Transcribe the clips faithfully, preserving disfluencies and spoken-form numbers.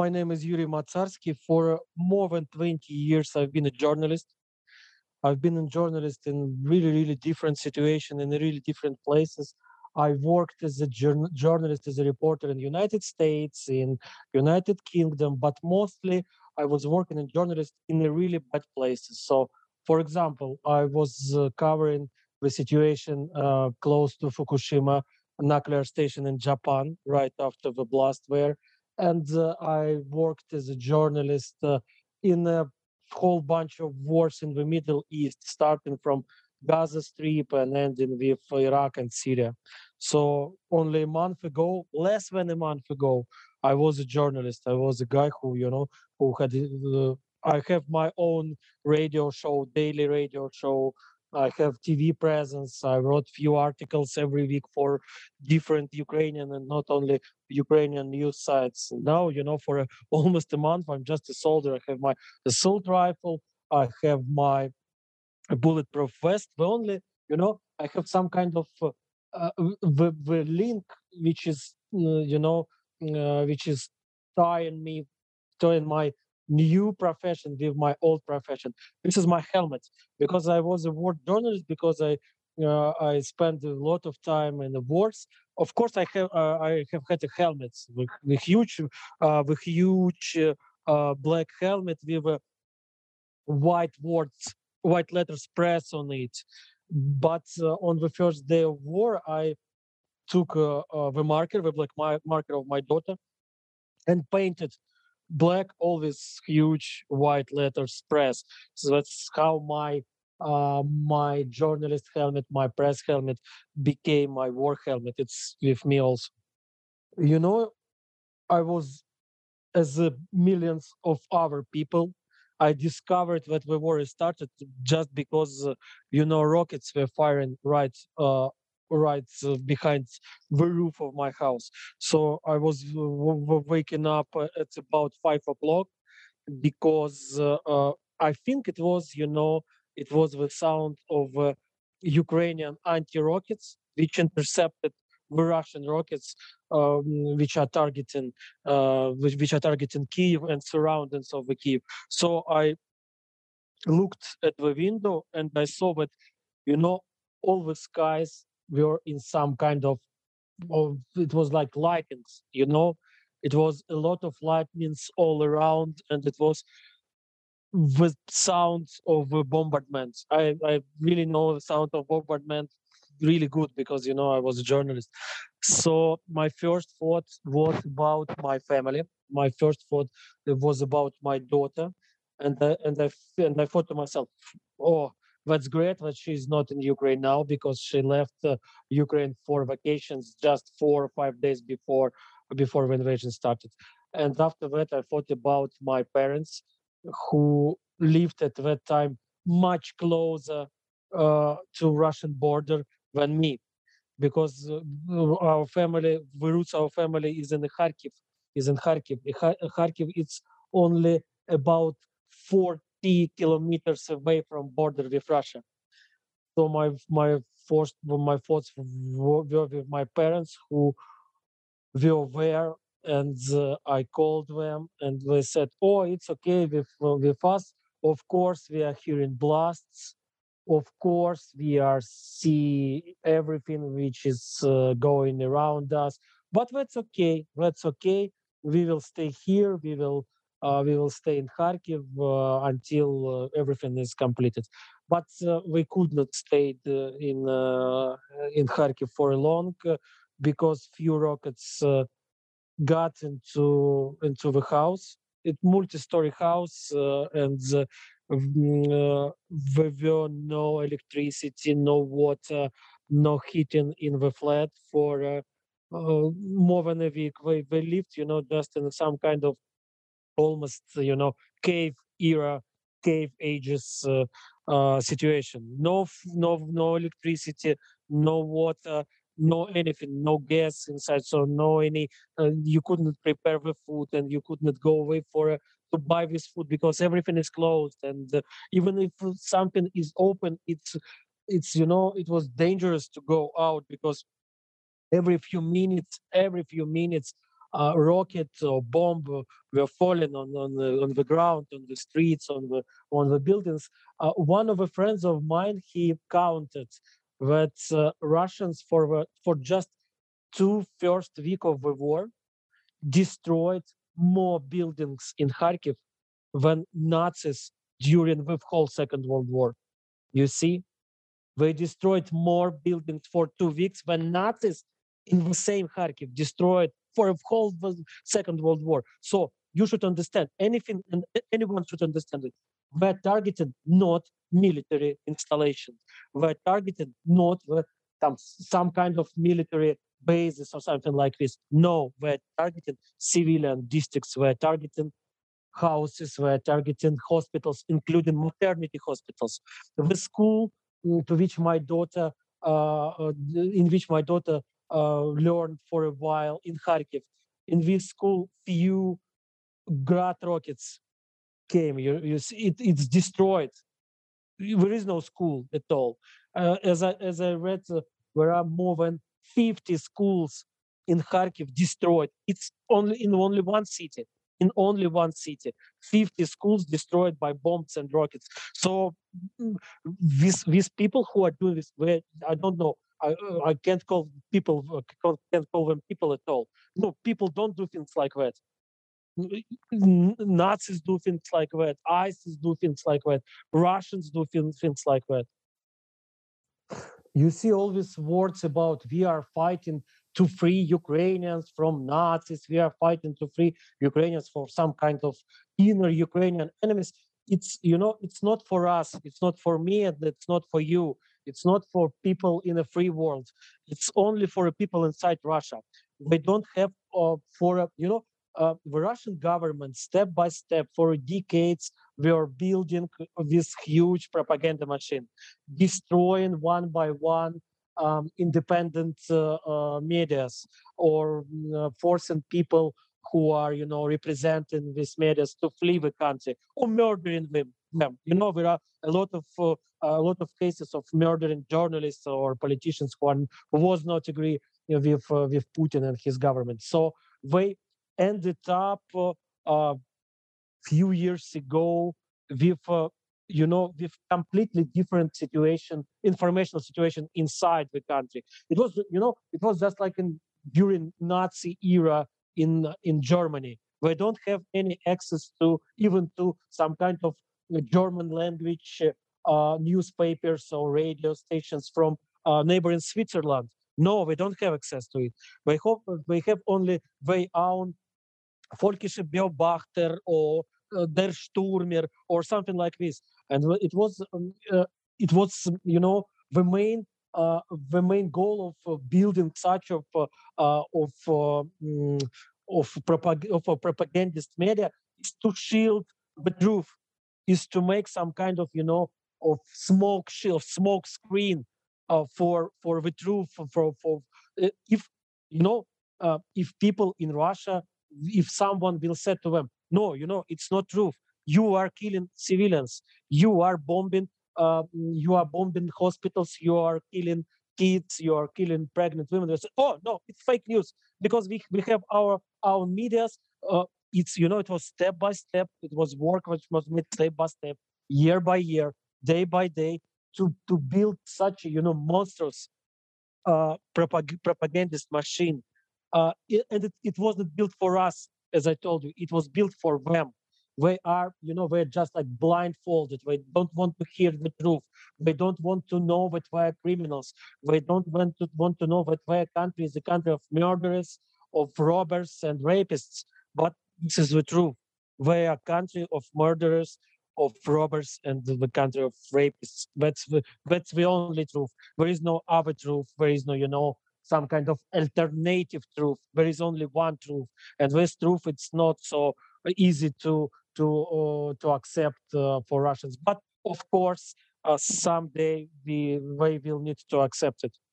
My name is Yuri Matsarsky. For more than twenty years, I've been a journalist. I've been a journalist in really, really different situations, in really different places. I worked as a journ- journalist, as a reporter in the United States, in United Kingdom, but mostly I was working as a journalist in the really bad places. So, for example, I was uh, covering the situation uh, close to Fukushima nuclear station in Japan right after the blast there. And uh, I worked as a journalist uh, in a whole bunch of wars in the Middle East, starting from Gaza Strip and ending with Iraq and Syria. So only a month ago, less than a month ago, I was a journalist. I was a guy who, you know, who had. Uh, I have my own radio show, daily radio show. I have T V presence. I wrote few articles every week for different Ukrainian and not only Ukrainian news sites. Now, you know, for a, almost a month, I'm just a soldier. I have my assault rifle. I have my bulletproof vest. The only, you know, I have some kind of uh, uh, the the link which is, uh, you know, uh, which is tying me, tying my new profession with my old profession. This is my helmet because I was a war journalist because I. Uh, I spent a lot of time in the wars. Of course, I have uh, I have had a helmet with, with huge, uh, with huge uh, uh, black helmet with a white words, white letters press on it. But uh, on the first day of war, I took uh, uh, the marker, the black mar- marker of my daughter, and painted black all these huge white letters press. So that's how my uh, my journalist helmet, my press helmet, became my war helmet. It's with me also. You know, I was as uh, millions of other people. I discovered that the war started just because, uh, you know, rockets were firing right, uh, right uh, behind the roof of my house. So I was uh, w- w- waking up uh, at about five o'clock because uh, uh, I think it was, you know, it was the sound of uh, Ukrainian anti-rockets which intercepted the Russian rockets, um, which are targeting, uh, which, which are targeting Kiev and surroundings of the Kiev. So I looked at the window and I saw that, you know, all the skies were in some kind of, of it was like lightnings, you know, it was a lot of lightnings all around, and it was with sounds of uh, bombardments. I, I really know the sound of bombardment really good because you know I was a journalist. So my first thought was about my family. My first thought uh, was about my daughter, and I, and I f- and I thought to myself, oh. That's great that she's not in Ukraine now because she left uh, Ukraine for vacations just four or five days before before the invasion started. And after that, I thought about my parents who lived at that time much closer uh, to Russian border than me, because uh, our family, the roots of our family is in Kharkiv, is in Kharkiv. The Kha- Kharkiv it's only about forty kilometers away from border with Russia. So my my first my thoughts were were with my parents who were there, and uh, I called them and they said, "Oh, it's okay with uh, with us. Of course, we are hearing blasts. Of course, we are see everything which is uh, going around us. But that's okay. That's okay. We will stay here. We will." Uh, we will stay in Kharkiv uh, until uh, everything is completed. But uh, we could not stay uh, in uh, in Kharkiv for long uh, because few rockets uh, got into into the house. It multi-story house, uh, and uh, mm, uh, there were no electricity, no water, no heating in the flat for uh, uh, more than a week. They, they lived, you know, just in some kind of almost, you know, cave era, cave ages uh, uh, situation. No, f- no, no electricity, no water, no anything, no gas inside. So no any. Uh, you couldn't prepare the food, and you could not go away for. Uh, to buy this food because everything is closed, and uh, even if something is open, it's it's you know it was dangerous to go out because every few minutes every few minutes uh, rocket or bomb uh, were falling on on the, on the ground, on the streets, on the on the buildings. Uh, one of the friends of mine, he counted that uh, Russians for the, for just two first week of the war destroyed more buildings in Kharkiv than Nazis during the whole Second World War. You see, they destroyed more buildings for two weeks than Nazis in the same Kharkiv destroyed for a whole the Second World War. So you should understand anything, and anyone should understand it. We're targeted not military installations. We're targeted not the, some, some kind of military bases or something like this. No, we're targeting civilian districts. We're targeting houses, we're targeting hospitals, including maternity hospitals. The school mm, to which my daughter, uh, uh, in which my daughter uh, learned for a while in Kharkiv, in this school, few Grad rockets came. You, you see, it, it's destroyed. There is no school at all. Uh, as I as I read, uh, there are more than fifty schools in Kharkiv destroyed. It's only in only one city. In only one city, fifty schools destroyed by bombs and rockets. So mm, these these people who are doing this, where I don't know. I, uh, I can't call people uh, can't can't call them people at all. No, people don't do things like that. N- Nazis do things like that. ISIS do things like that. Russians do things, things like that. You see all these words about we are fighting to free Ukrainians from Nazis. We are fighting to free Ukrainians for some kind of inner Ukrainian enemies. It's you know it's not for us. It's not for me, and it's not for you. It's not for people in a free world. It's only for the people inside Russia. They don't have uh, for a, you know uh, the Russian government step by step for decades we are building this huge propaganda machine, destroying one by one um, independent uh, uh, medias, or mm, uh, forcing people who are, you know, representing these medias to flee the country or murdering them. them. You know, there are a lot of uh, a lot of cases of murdering journalists or politicians who, are, who was not agree you know, with uh, with Putin and his government. So they ended up uh, uh, few years ago with uh, you know with completely different situation, informational situation inside the country. It was you know it was just like in during Nazi era in in Germany. We don't have any access to even to some kind of uh, German language uh, uh, newspapers or radio stations from uh, neighboring Switzerland. No, we don't have access to it. We hope we have only their own Volkische Beobachter or uh, Der Sturmer or something like this. And it was um, uh, it was you know the main uh, the main goal of uh, building such of uh, uh, of uh, mm, of, propag- of a propagandist media is to shield the truth, is to make some kind of you know of smoke shield, smoke screen uh, for for the truth for for, for uh, if you know uh, if people in Russia, if someone will say to them, no, you know, it's not true. You are killing civilians. You are bombing. Uh, you are bombing hospitals. You are killing kids. You are killing pregnant women. They say, oh no, it's fake news because we we have our our media's. Uh, it's you know it was step by step. It was work which was made step by step, year by year, day by day to to build such a you know monstrous uh, propag- propagandist machine. Uh, it, and it, it wasn't built for us, as I told you. It was built for them. They are, you know, they're just like blindfolded. They don't want to hear the truth. They don't want to know that we're criminals. They don't want to want to know that their country is a country of murderers, of robbers and rapists. But this is the truth. They are a country of murderers, of robbers, and the country of rapists. That's the that's the only truth. There is no other truth. There is no, you know, some kind of alternative truth. There is only one truth, and this truth it's not so easy to to uh, to accept uh, for Russians. But of course, uh, someday we we will need to accept it.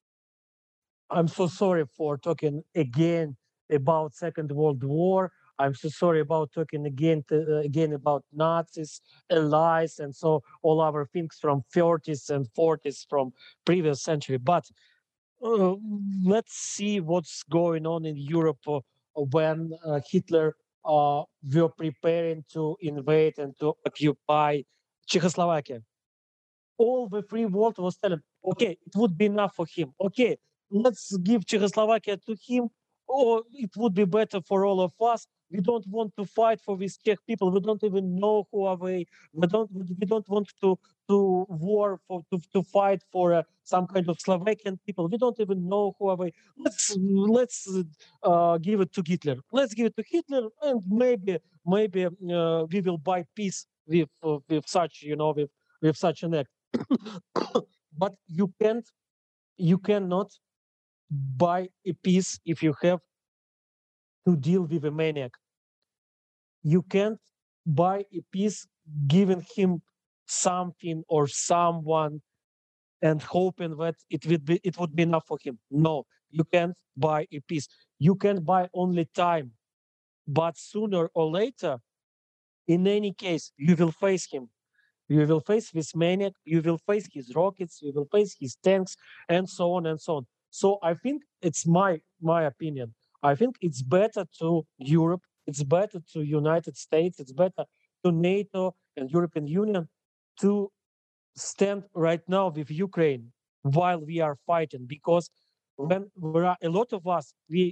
I'm so sorry for talking again about Second World War. I'm so sorry about talking again to, uh, again about Nazis, allies, and so all other things from thirties and forties from previous century. But uh, let's see what's going on in Europe uh, when uh, Hitler uh, were preparing to invade and to occupy Czechoslovakia. All the free world was telling, okay, it would be enough for him. Okay, let's give Czechoslovakia to him, or it would be better for all of us. We don't want to fight for these Czech people. We don't even know who are they. We don't. We don't want to to war for to, to fight for uh, some kind of Slovakian people. We don't even know who are they. Let's let's uh, give it to Hitler. Let's give it to Hitler, and maybe maybe uh, we will buy peace with uh, with such you know with with such an act. But you can't you cannot buy a peace if you have to deal with a maniac. You can't buy a peace giving him something or someone and hoping that it would be it would be enough for him. No, you can't buy a peace. You can buy only time, but sooner or later, in any case, you will face him. You will face this maniac, you will face his rockets, you will face his tanks, and so on and so on. So I think it's my my opinion. I think it's better to Europe, it's better to United States, it's better to NATO and European Union to stand right now with Ukraine while we are fighting, because when there are a lot of us, we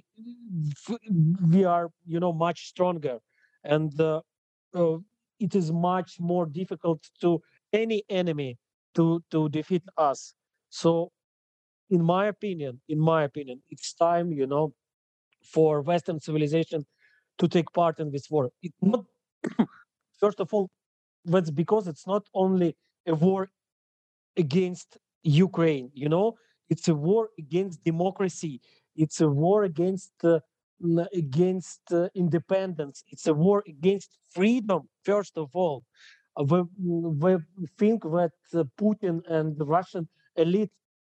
we are you know much stronger, and uh, uh, it is much more difficult to any enemy to to defeat us. So, in my opinion, in my opinion, it's time you know for Western civilization to take part in this war. It not first of all, that's because it's not only a war against Ukraine. You know, it's a war against democracy. It's a war against uh, n- against uh, independence. It's a war against freedom. First of all, Uh, we, we think that uh, Putin and the Russian elite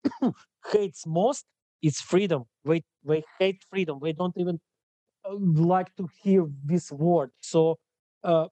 hates most is freedom. They they hate freedom. They don't even uh, like to hear this word. So. Uh,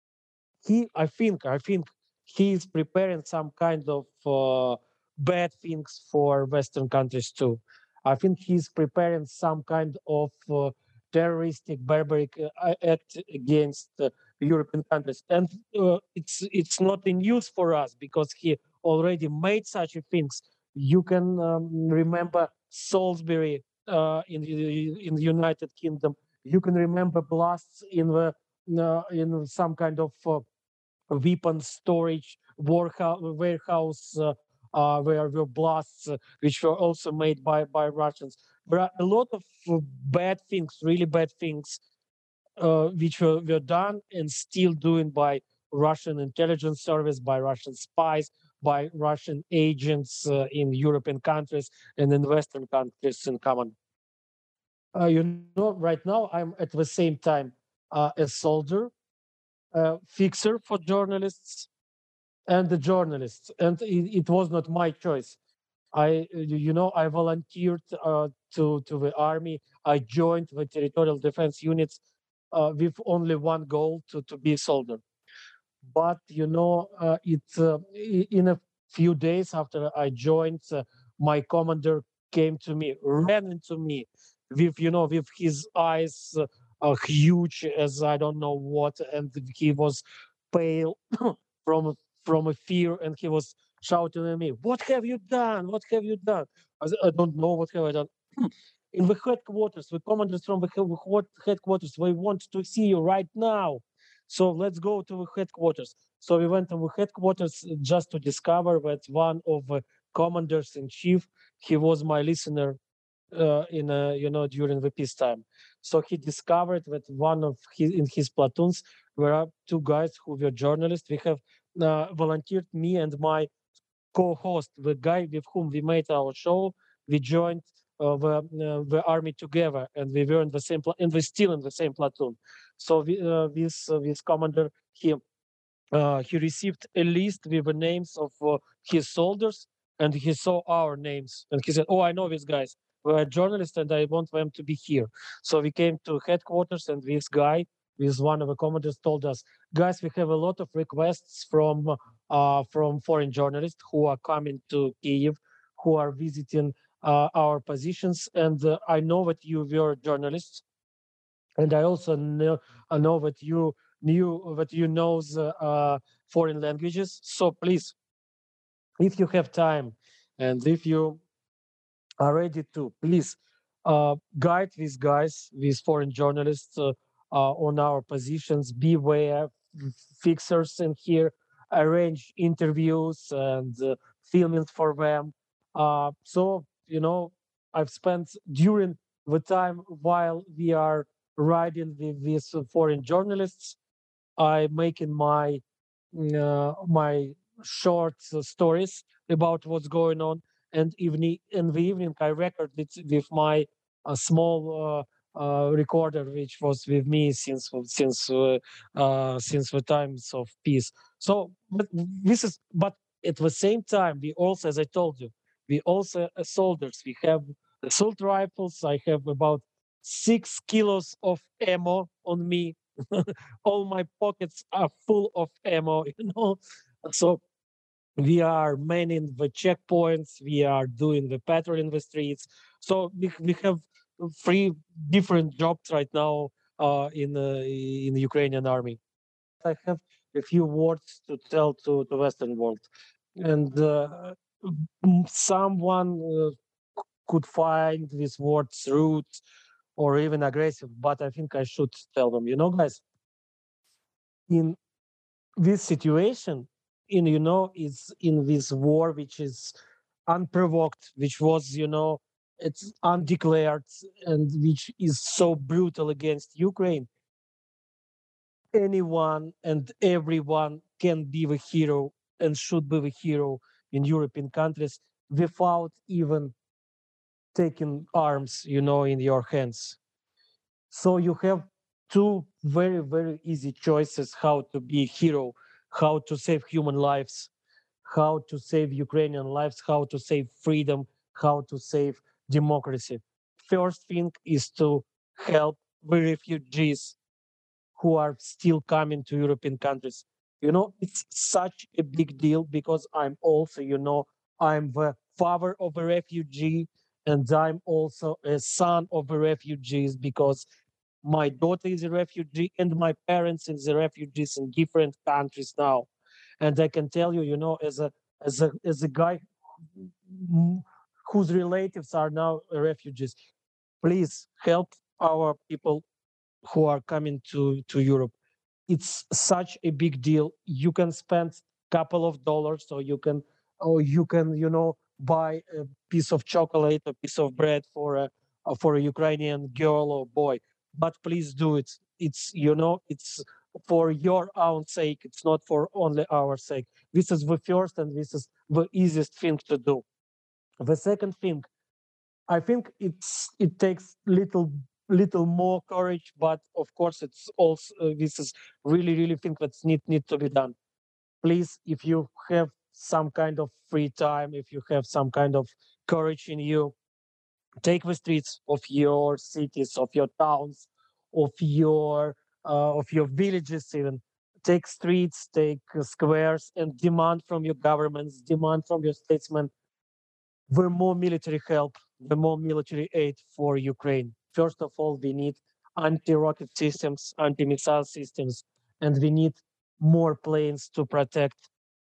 he i think i think he is preparing some kind of uh, bad things for Western countries too. I think he's preparing some kind of uh, terroristic barbaric uh, act against uh, European countries, and uh, it's it's not in news for us because he already made such a things. You can um, remember Salisbury uh, in the in the United Kingdom. You can remember blasts in the uh, in some kind of uh, weapon storage warehouse, warehouse uh, uh, where were blasts, uh, which were also made by, by Russians. There are a lot of uh, bad things, really bad things, uh, which were, were done and still doing by Russian intelligence service, by Russian spies, by Russian agents uh, in European countries and in Western countries in common. Uh, you know, right now I'm at the same time uh, a soldier, a fixer for journalists, and the journalists, and it, it was not my choice. I you you know I volunteered uh, to to the army. I joined the territorial defense units uh, with only one goal, to to be a soldier. But you know uh, it uh, i- in a few days after I joined, uh, my commander came to me, ran into me with you know with his eyes uh, uh, huge as I don't know what, and he was pale from from a fear, and he was shouting at me, "What have you done? What have you done?" I said, "I don't know. What have I done?" In the headquarters, the commanders from the he- what headquarters, they want to see you right now. So let's go to the headquarters. So we went to the headquarters just to discover that one of the commanders in chief, he was my listener uh, in uh, you know during the peacetime. So he discovered that one of his in his platoons there are two guys who were journalists. We have uh, volunteered, me and my co-host, the guy with whom we made our show. We joined uh, the uh, the army together, and we were in the same pla- and we're still in the same platoon. So we, uh, this uh, this commander, he uh, he received a list with the names of uh, his soldiers, and he saw our names, and he said, "Oh, I know these guys. We're journalists, and I want them to be here." So we came to headquarters, and this guy, this one of the commanders, told us, "Guys, we have a lot of requests from uh, from foreign journalists who are coming to Kiev, who are visiting uh, our positions, and uh, I know that you were journalists." And I also know I know that you knew that you knows uh, uh, foreign languages. So please, if you have time, and if you are ready to, please uh, guide these guys, these foreign journalists uh, uh, on our positions. Beware fixers in here, arrange interviews and uh, filming for them. Uh, so, you know, I've spent during the time while we are riding with these uh, foreign journalists, I making my mm, uh, my short uh, stories about what's going on, and evening in the evening I record it with my uh, small uh, uh, recorder, which was with me since since uh, uh, since the times of peace. So, but this is but at the same time we also, as I told you, we also uh, soldiers. We have assault rifles. I have about six kilos of ammo on me. All my pockets are full of ammo, you know. So we are manning the checkpoints, we are doing the patrol in the streets. So we, we have three different jobs right now uh, in the in the Ukrainian army. I have a few words to tell to the Western world, and uh, m- someone uh, could find these words rude or even aggressive, but I think I should tell them, you know, guys, in this situation, in you know is in this war which is unprovoked, which was, you know, it's undeclared, and which is so brutal against Ukraine, anyone and everyone can be the hero and should be the hero in European countries without even taking arms, you know, in your hands. So you have two very very easy choices how to be a hero, how to save human lives, how to save Ukrainian lives, how to save freedom, how to save democracy. First thing is to help the refugees who are still coming to European countries. You know, it's such a big deal because I'm also, you know, I'm the father of a refugee, and I'm also a son of the refugees because my daughter is a refugee and my parents is the refugees in different countries now. And I can tell you, you know, as a as a as a guy who- whose relatives are now refugees, please help our people who are coming to to Europe. It's such a big deal. You can spend couple of dollars, or you can or you can, you know, buy a piece of chocolate, a piece of bread for a uh, for a Ukrainian girl or boy. But please do it. It's, you know, it's for your own sake. It's not for only our sake. This is the first and this is the easiest thing to do. The second thing, I think it's it takes little little more courage, but of course it's also uh, this is really really thing that's need need to be done. Please, if you have some kind of free time, if you have some kind of courage in you, take the streets of your cities, of your towns, of your uh, of your villages even. Take streets, take uh, squares, and demand from your governments, demand from your statesmen the more military help, the more military aid for Ukraine. First of all, we need anti-rocket systems, anti-missile systems, and we need more planes to protect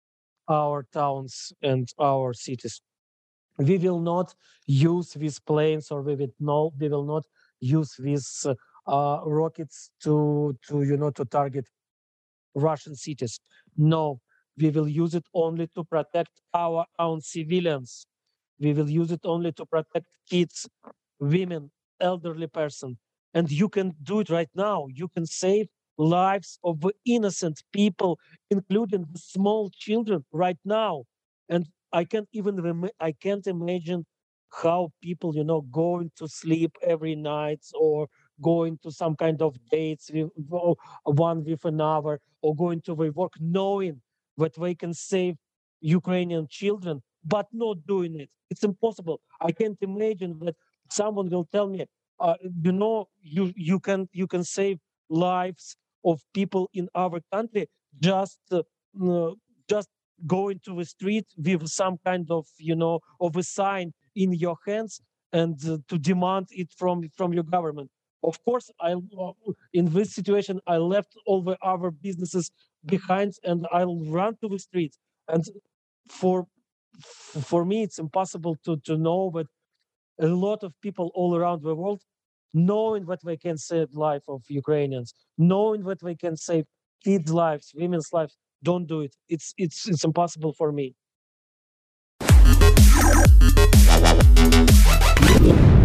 our towns and our cities. We will not use these planes, or we will no, we will not use these uh, uh, rockets to to you know to target Russian cities. No, we will use it only to protect our own civilians. We will use it only to protect kids, women, elderly person. And you can do it right now. You can save lives of innocent people, including the small children right now. And I can't even rem- I can't imagine how people, you know, going to sleep every night, or going to some kind of dates with o- one with another, or going to their work knowing that they can save Ukrainian children, but not doing it. It's impossible. I can't imagine that someone will tell me, uh, you know, you you can you can save lives of people in our country just uh, uh, just going to the street with some kind of, you know, of a sign in your hands, and uh, to demand it from from your government. Of course, I uh, in this situation I left all the other businesses behind and I'll run to the streets. And for for me, it's impossible to to know that a lot of people all around the world, knowing that they can save life of Ukrainians, knowing that they can save kids' lives, women's lives, don't do it. It's it's it's impossible for me.